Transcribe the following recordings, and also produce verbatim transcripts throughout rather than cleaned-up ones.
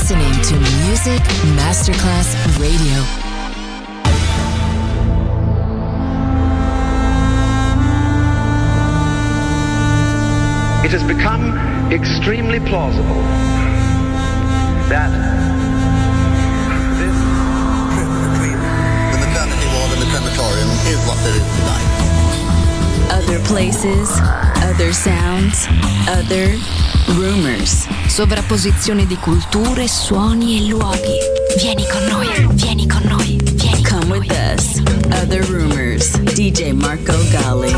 listening to Music Masterclass Radio. It has become extremely plausible that this trip between the maternity ward and the crematorium is what there is tonight. Other places, other sounds, other rumors. Sovrapposizione di culture, suoni e luoghi. Vieni con noi, vieni con noi, vieni con Come noi. With us. Other Rumors. D J Marco Gally.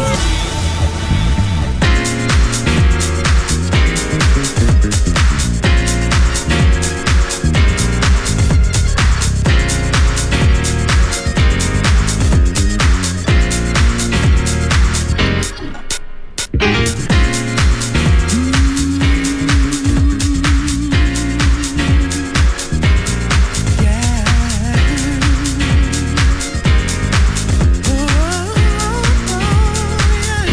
Yeah.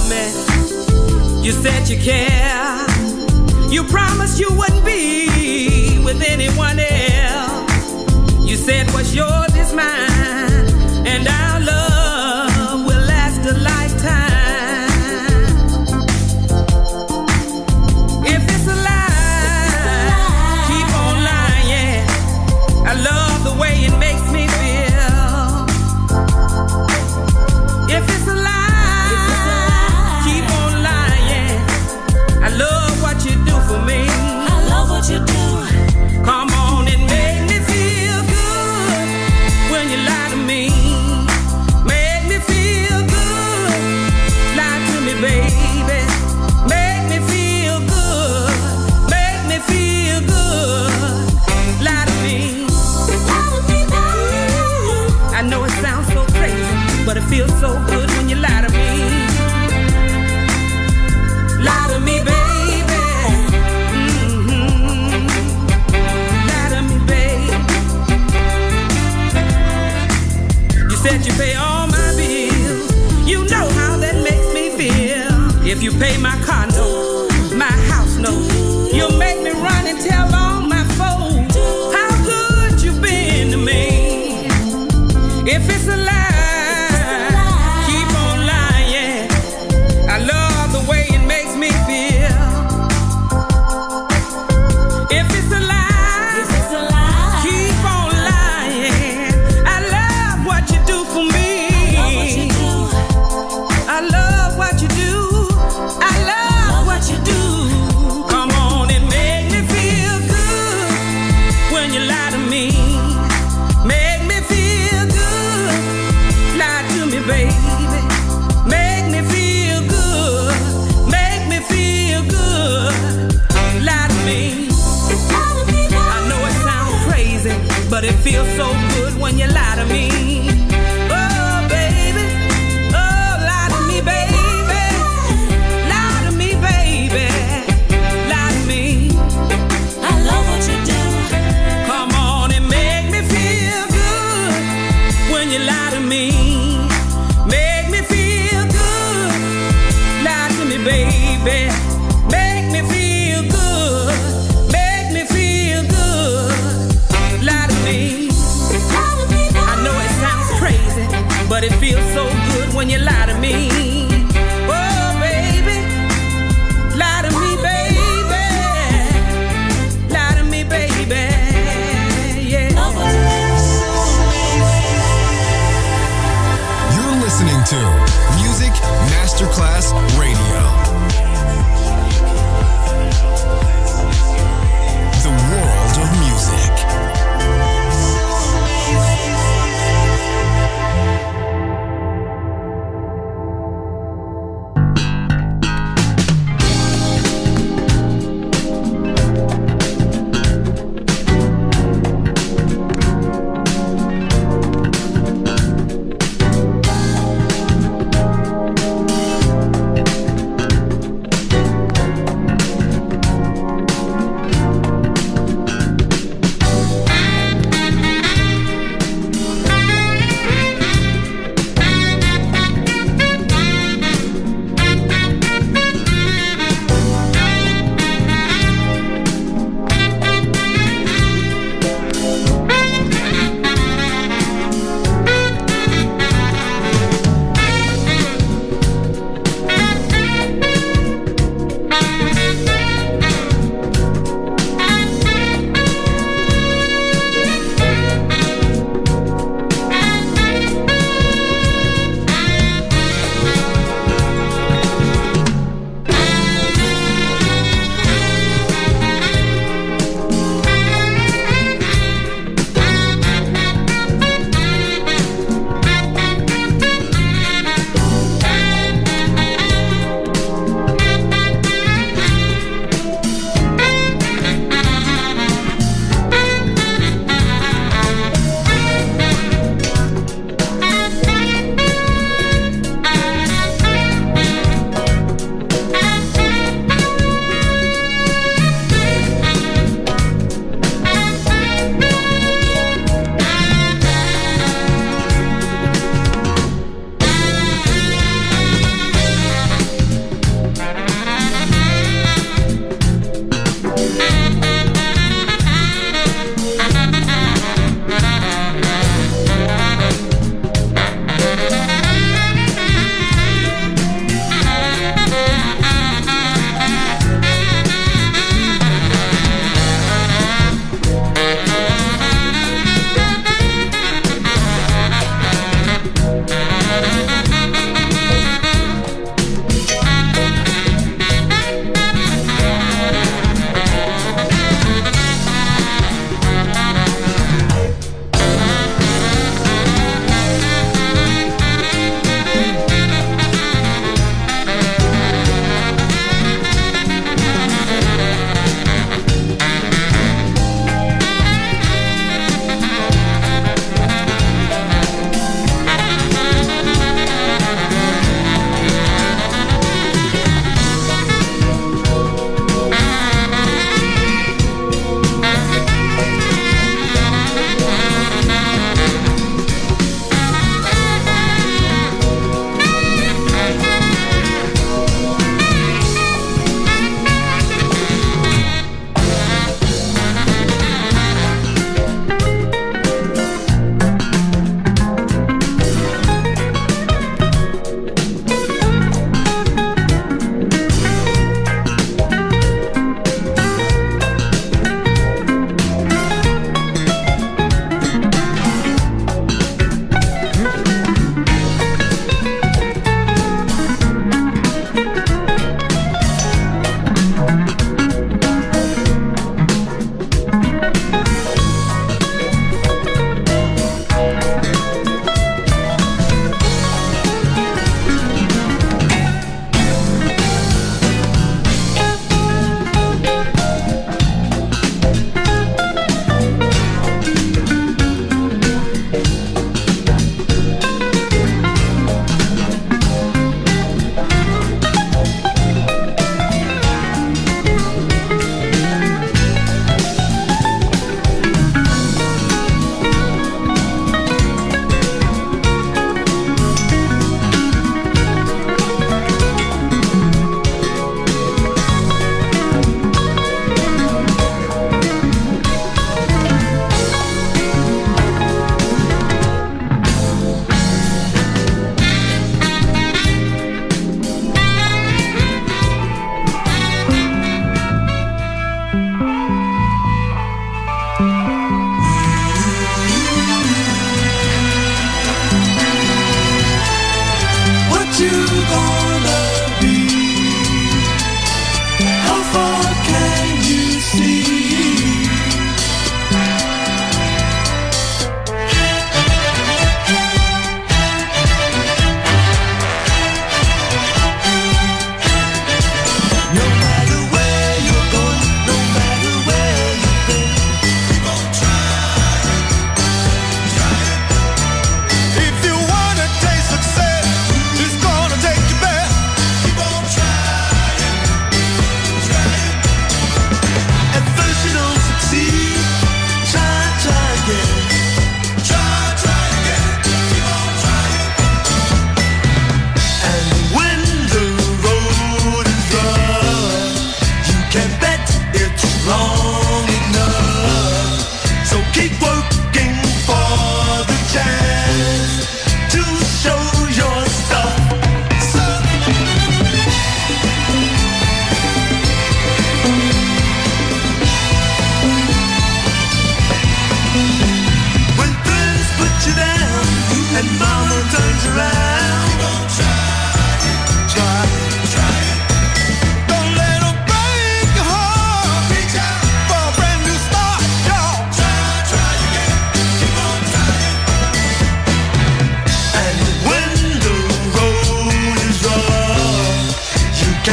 love me. You said you care. You promised you wouldn't be with anyone else. You said what's yours is mine, and our love will last a lifetime. If it's a lie, keep on lying. I love the way it makes me feel. If it's a lie, keep on lying. I love what you do for me. I love what you do. Come on and make me feel good when you lie to me. Make me feel good. Lie to me, baby. Make me feel good. Make me feel good. Lie to me. I know it sounds so crazy, but it feels so good when you lie to me. Lie to me, baby. Mm-hmm. Lie to me, baby. You said you pay all my bills. You know how that makes me feel. If you pay my car note, my house note, you'll make me run and tell all my folks how good you've been to me. If it's a lie, keep on lying. I love the way it makes me feel. If it's a lie, keep on lying. I love what you do for me. I love what you do. I love what you do. Come on and make me feel good when you lie to me. Make me feel good. Lie to me, baby. Make me feel good. Make me feel good. Lie to me. I know it sounds crazy, but it feels so good when you lie to me. Oh, baby. Oh, lie to me, baby. Lie to me, baby. Lie to me. I love what you do. Come on and make me feel good when you lie to me. Make me feel good. Lie to me, baby. Make me feel good. Make me feel good. Lie to me. I know it sounds crazy, but it feels so good when you lie to me. Oh, baby. Lie to me, baby. Lie to me, baby. Yeah. You're listening to Music Masterclass Radio. The world of music.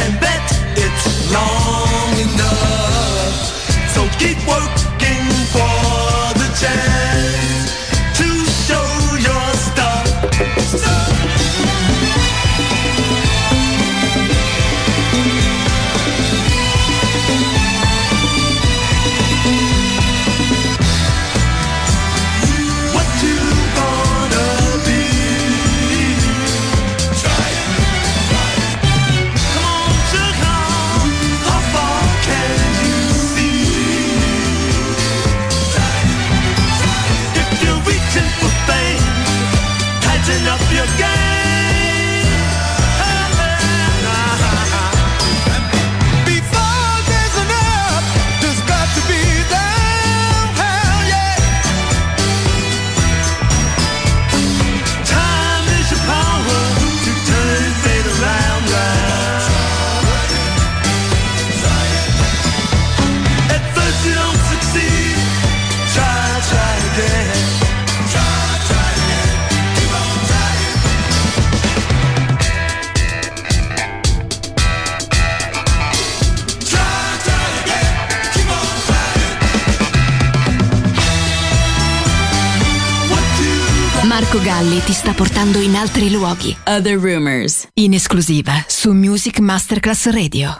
and bet it's long enough. So keep working for the chance to show your stuff. Up your game. Before there's enough, there's got to be down. Hell yeah. Time is your power to turn fate around, round. At first you don't succeed. Try, try again. Marco Galli ti sta portando in altri luoghi. Other Rumors, in esclusiva su Music Masterclass Radio.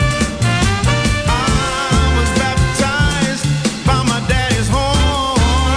I was baptized by my daddy's horn.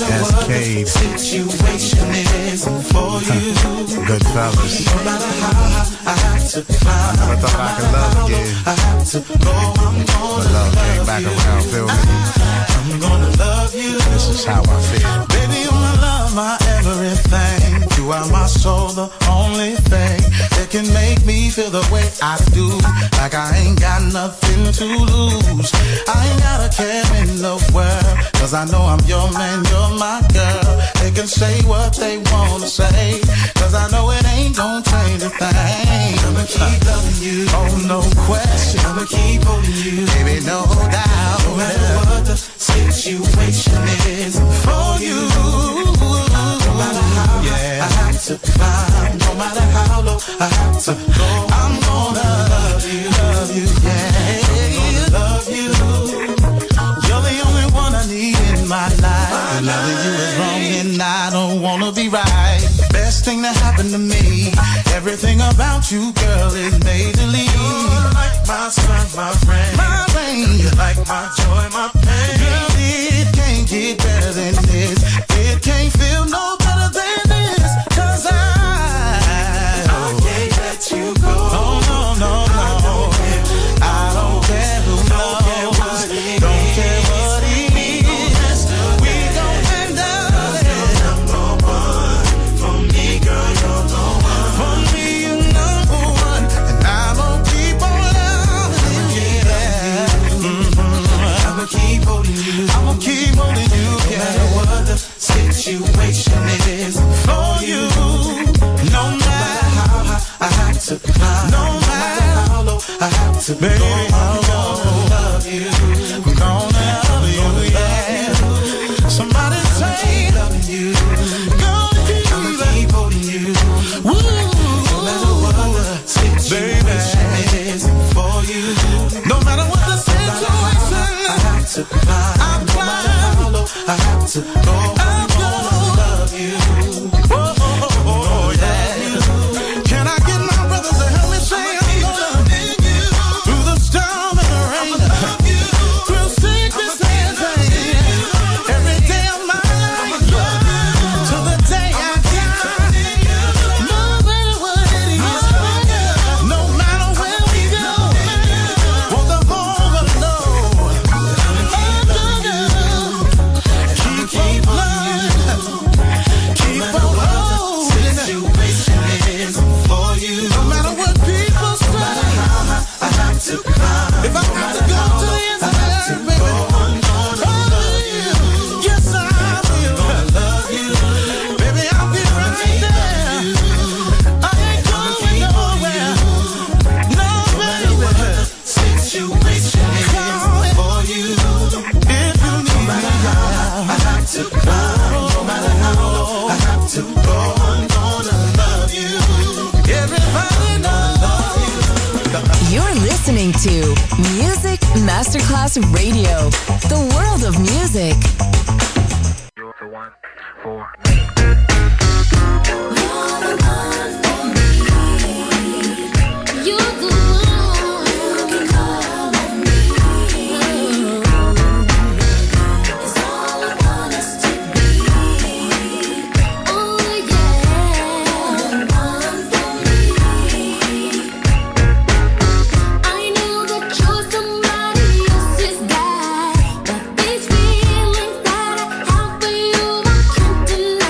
Cascade. Situation is for you. Good fellas. No matter how I have to climb. I never thought I could love again. I have to go. I'm gonna but love came back around, feel me? I'm gonna love you. This is how I feel. Baby, you're my love, my everything. You are my soul, the only thing that can make me feel the way I do. Like I ain't got nothing to lose. I ain't got a care in the world, cause I know I'm your man, you're my girl. They can say what they wanna say, cause I know it ain't gon' change a thing. I'ma keep loving you, oh no question. I'ma keep holding you, baby, no doubt. No matter what the situation is for you. No matter how yeah. I have to climb, no matter how low I have to go, I'm gonna love you, love you, yeah. I'm gonna love you. You're the only one I need in my life. And loving you is wrong and I don't wanna be right. Best thing that happened to me. Everything about you, girl, is majorly. You're like my sun, my friend, my rain. You're like my joy, my pain. Girl, it can't get better than this. It can't feel no better than this. Cause I, I can't let you go. No, no, no, no. I don't care who knows. Don't care what it is. We gon' handle it. You're number one. For me, girl, you're the one. For me, you're number one. And I'm gonna keep on loving you. Yeah. Mm-hmm. I'ma keep holding you. I'ma keep holding you. No yeah. matter what the situation is for you. No matter how high I have to climb. No matter how low I have to baby, go. I'm gonna love you. I'm gonna love you, yeah. Somebody say loving you. Gonna keep, I'ma keep holding you. Woo. No matter what the situation baby. is for you. No matter what the situation I have to climb. I'm no matter how low I have to go. I'm gonna love you. Oh, oh, oh, oh yeah. Can I get my brothers to help me say I'm gonna love you through the storm and the rain, through sickness and pain, every day of my life, till the day I die. No matter what it is, no matter where we go, or the home alone, I'm gonna keep on loving, keep on holding. Situation is for you. No matter what people say, no matter how I have to climb. If I have to go to the end of the earth, baby, I'm gonna love you. Yes, I will. I'm gonna love you. Baby, I'll be right there. I ain't going nowhere. No matter what the situation is for you. If you need me, I have to climb. No matter how low I have to go, I'm gonna love you. Everybody knows you. You're listening to Music Masterclass Radio, the world of music. You're the one for Feelings that I have for you, I can't deny.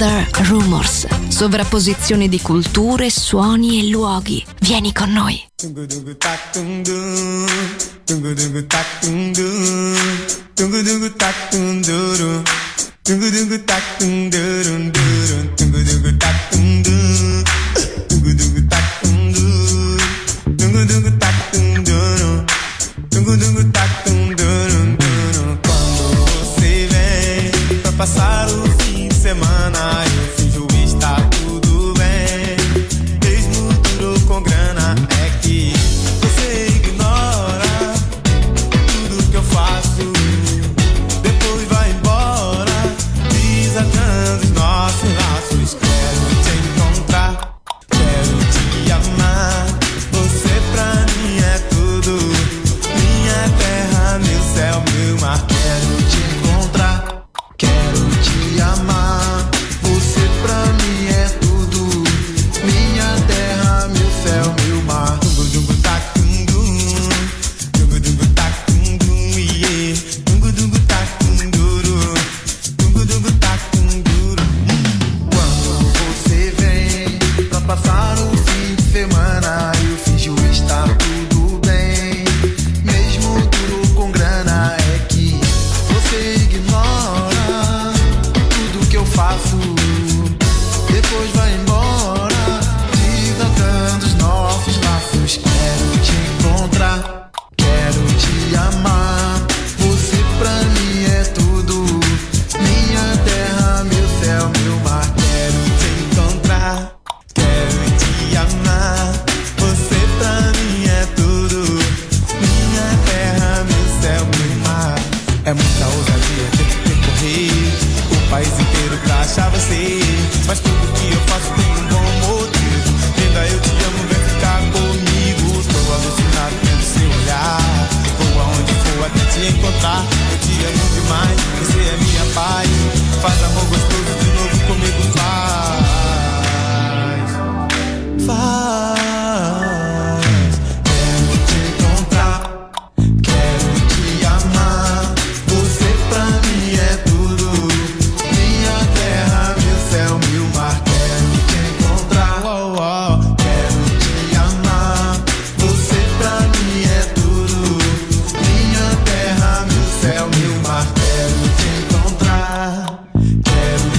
Other Rumors. Sovrapposizione di culture, suoni e luoghi. Vieni con noi. Passar o fim de semana, eu finjo estar tudo bem. Mesmo duro com grana, é que você ignora tudo que eu faço. Depois vai embora, desatando os nossos laços. Quero te encontrar, quero te amar. Você pra mim é tudo, minha terra, meu céu, meu mar. Quero te encontrar, quero te amar, você pra mim é tudo, minha terra, meu céu, meu mar. Dungu dungu tak dundum, dungu dungu tak dundum, yeah. Dungu dungu tak dunduru, dungu dungu tak dunduru. Quando você vem pra passar o fim de semana, eu finjo estar tudo bem, mesmo duro com grana, é que você ignora tudo que eu faço. Depois vai embora, desatando os nossos laços. Quero te encontrar, quero te amar. Você pra mim é tudo, minha terra, meu céu, meu mar. Quero te encontrar, quero te amar. Você pra mim é tudo, minha terra, meu céu, meu mar. É muita ousadia ter que percorrer o país inteiro pra achar você. Mas tudo que eu faço tem um bom motivo. Linda, eu te amo, vem ficar comigo. Tô alucinado pelo seu olhar. Vou aonde for até te encontrar. Eu te amo demais, você é minha paz. Faz amor gostoso de novo comigo, faz. Faz. Quero te encontrar, quero te amar. Você pra mim é tudo, minha terra, meu céu, meu mar. Quero te encontrar, oh, oh. Quero te amar. Você pra mim é tudo, minha terra, meu céu, meu mar. Quero te encontrar, quero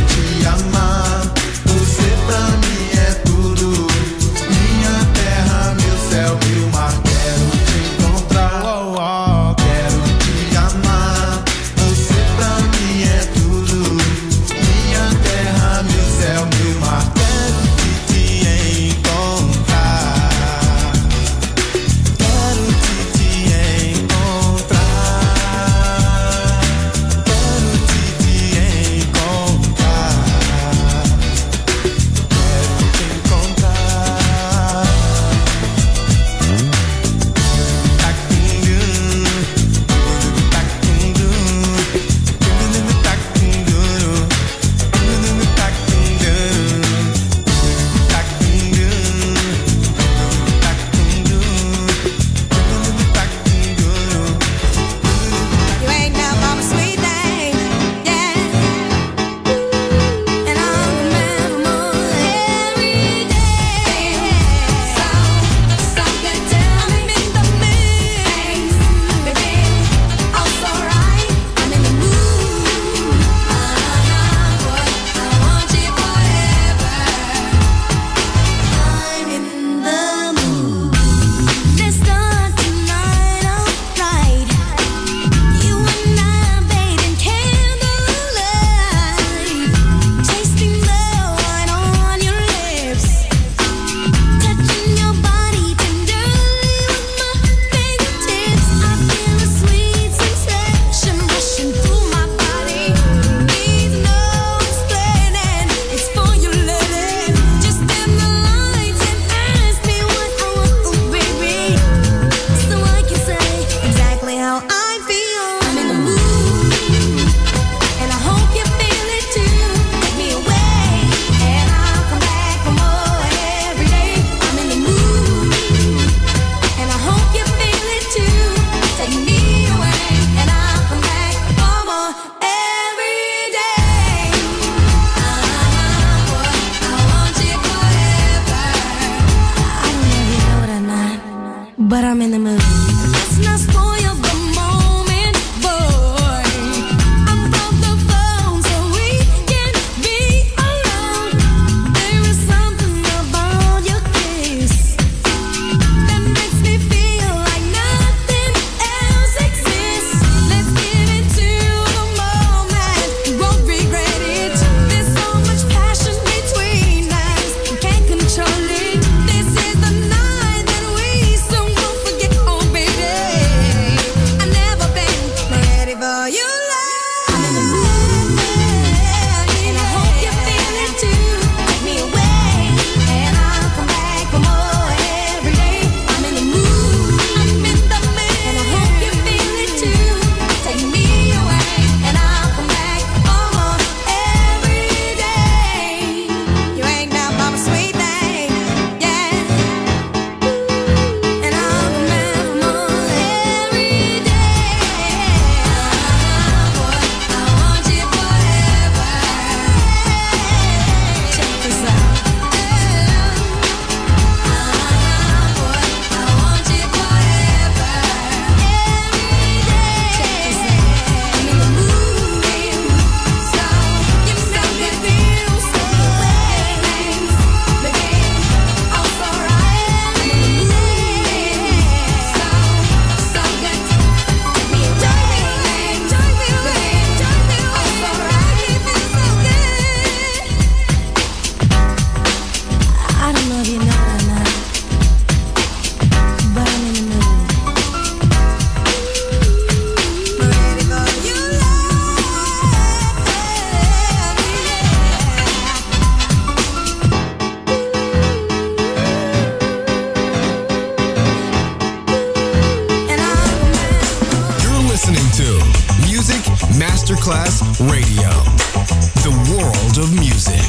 Masterclass Radio, the world of music.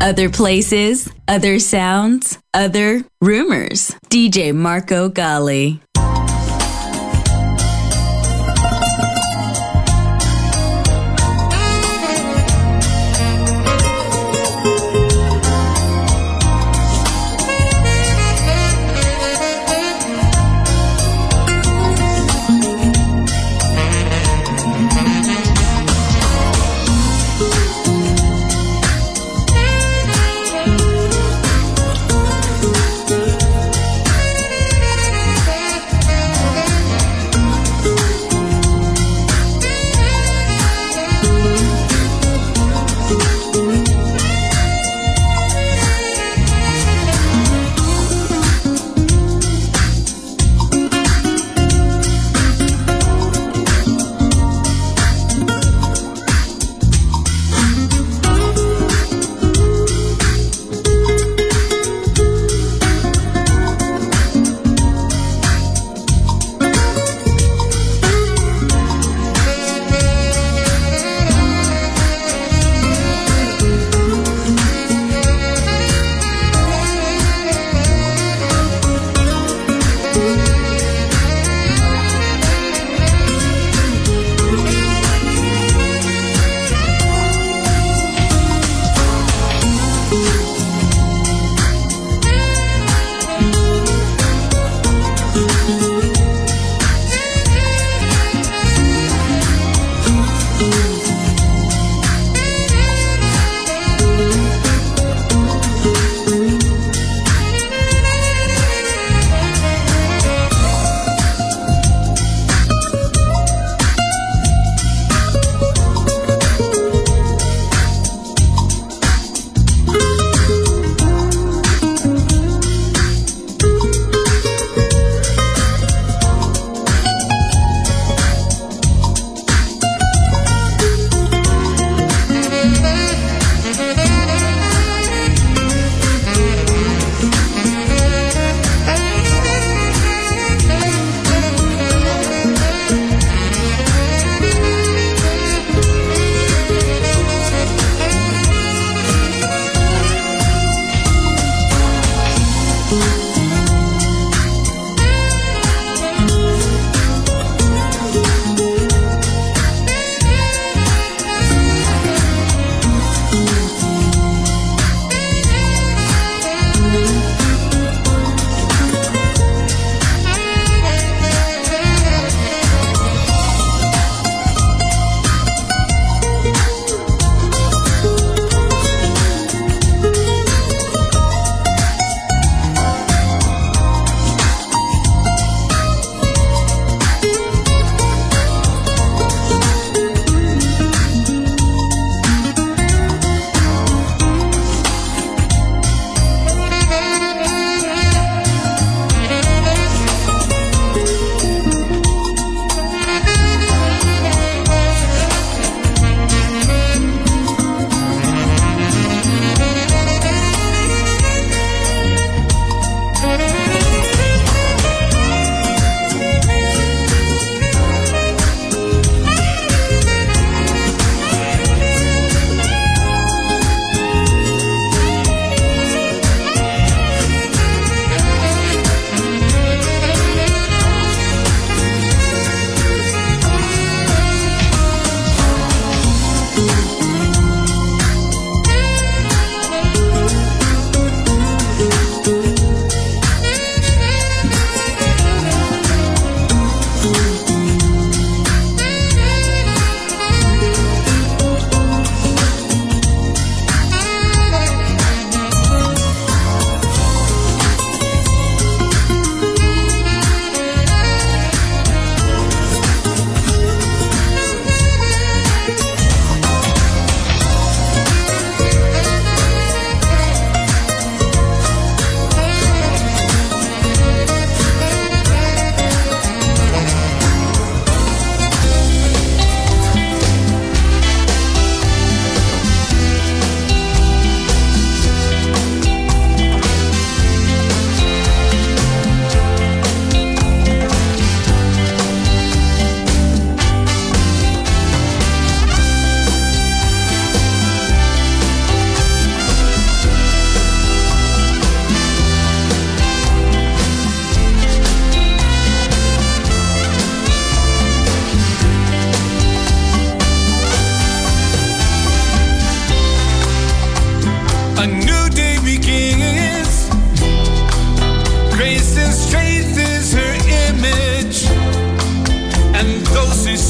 Other places, other sounds, other rumors. D J Marco Gally. Thank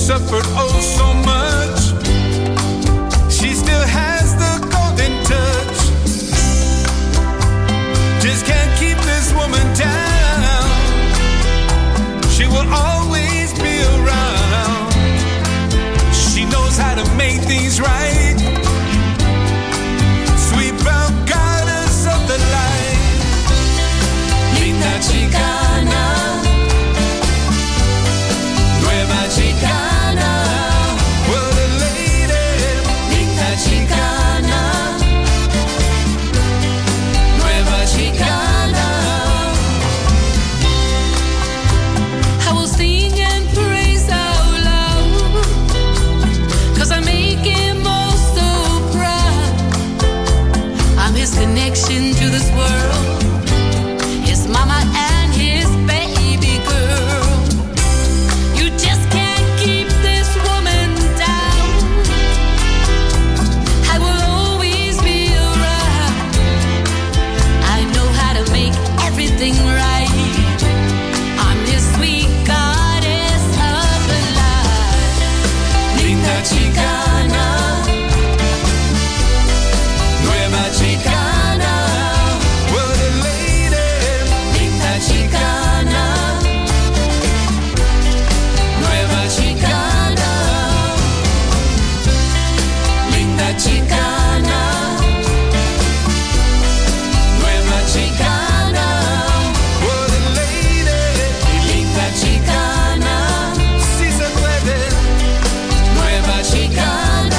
suffered oh so much. She still has the golden touch. Just can't keep this woman down. She will always be around. She knows how to make things right. Sweet brown goddess of the light. Linda chicana, nueva chicana, what a lady. Linda chicana, nueva chicana. I will sing and praise out loud, 'cause I make him all so proud. I'm his connection to this world, his mama and his baby girl. You just can't keep this woman down. I will always be around. I know how to make everything right. I'm his sweet goddess of the light. Linda chicana, nueva chicana, what a lady. Linda chicana, nueva chicana, linda chicana, nueva chicana, what a lady. Linda chicana, si se puede, nueva chicana.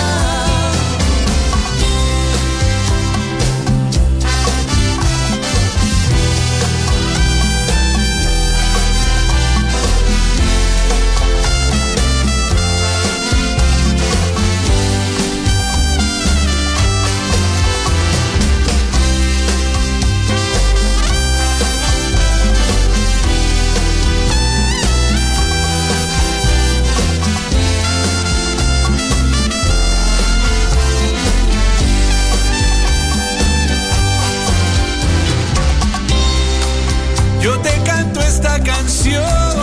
Yo te canto esta canción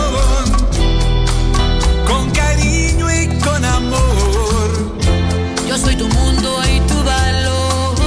con cariño y con amor. Yo soy tu mundo y tu valor.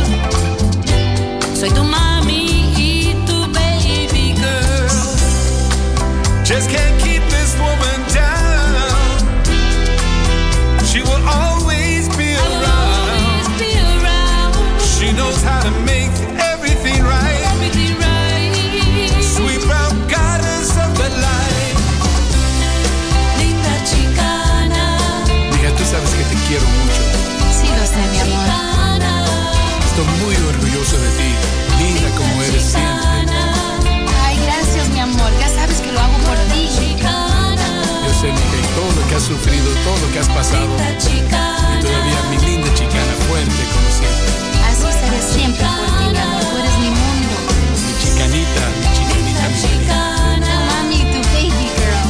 Soy tu mami y tu baby girl. Just can't keep this woman down. She will always be I will around. always be around. She knows how to make everything right. Everything right. Sweet brown goddess of the light. Linda chicana, Mija, tú sabes que te quiero mucho. Sí, lo sé, mi amor. chicana, Estoy muy orgulloso de ti, linda como eres siempre. Ay, gracias, mi amor. Ya sabes que lo hago por ti. chicana, Yo sé, mija, y todo lo que has sufrido, todo lo que has pasado. linda Y chicana. todavía mi linda chicana, fuerte como siempre. Así seré siempre por ti, mi amor. Tú eres mi mundo. Mi chicanita, mi chicanita, mi chicanita. Tu mami, tu baby girl.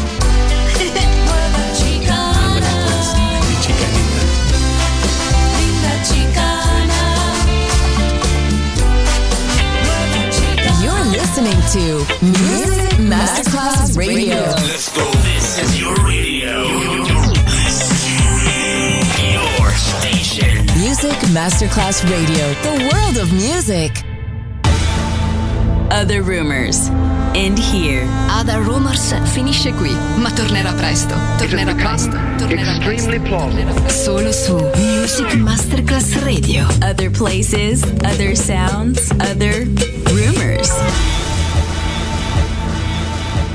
Ándale, pues, mi chicanita. You're listening to Music Masterclass Radio. Let's go. This is your radio. Your station. Music Masterclass Radio. The world of music. Other Rumors. End here. Other Rumors finisce qui, ma tornerà presto. Tornerà presto. Tornerà Extremely plausible. presto. Solo su Music Masterclass Radio. Other places, other sounds, other rumors.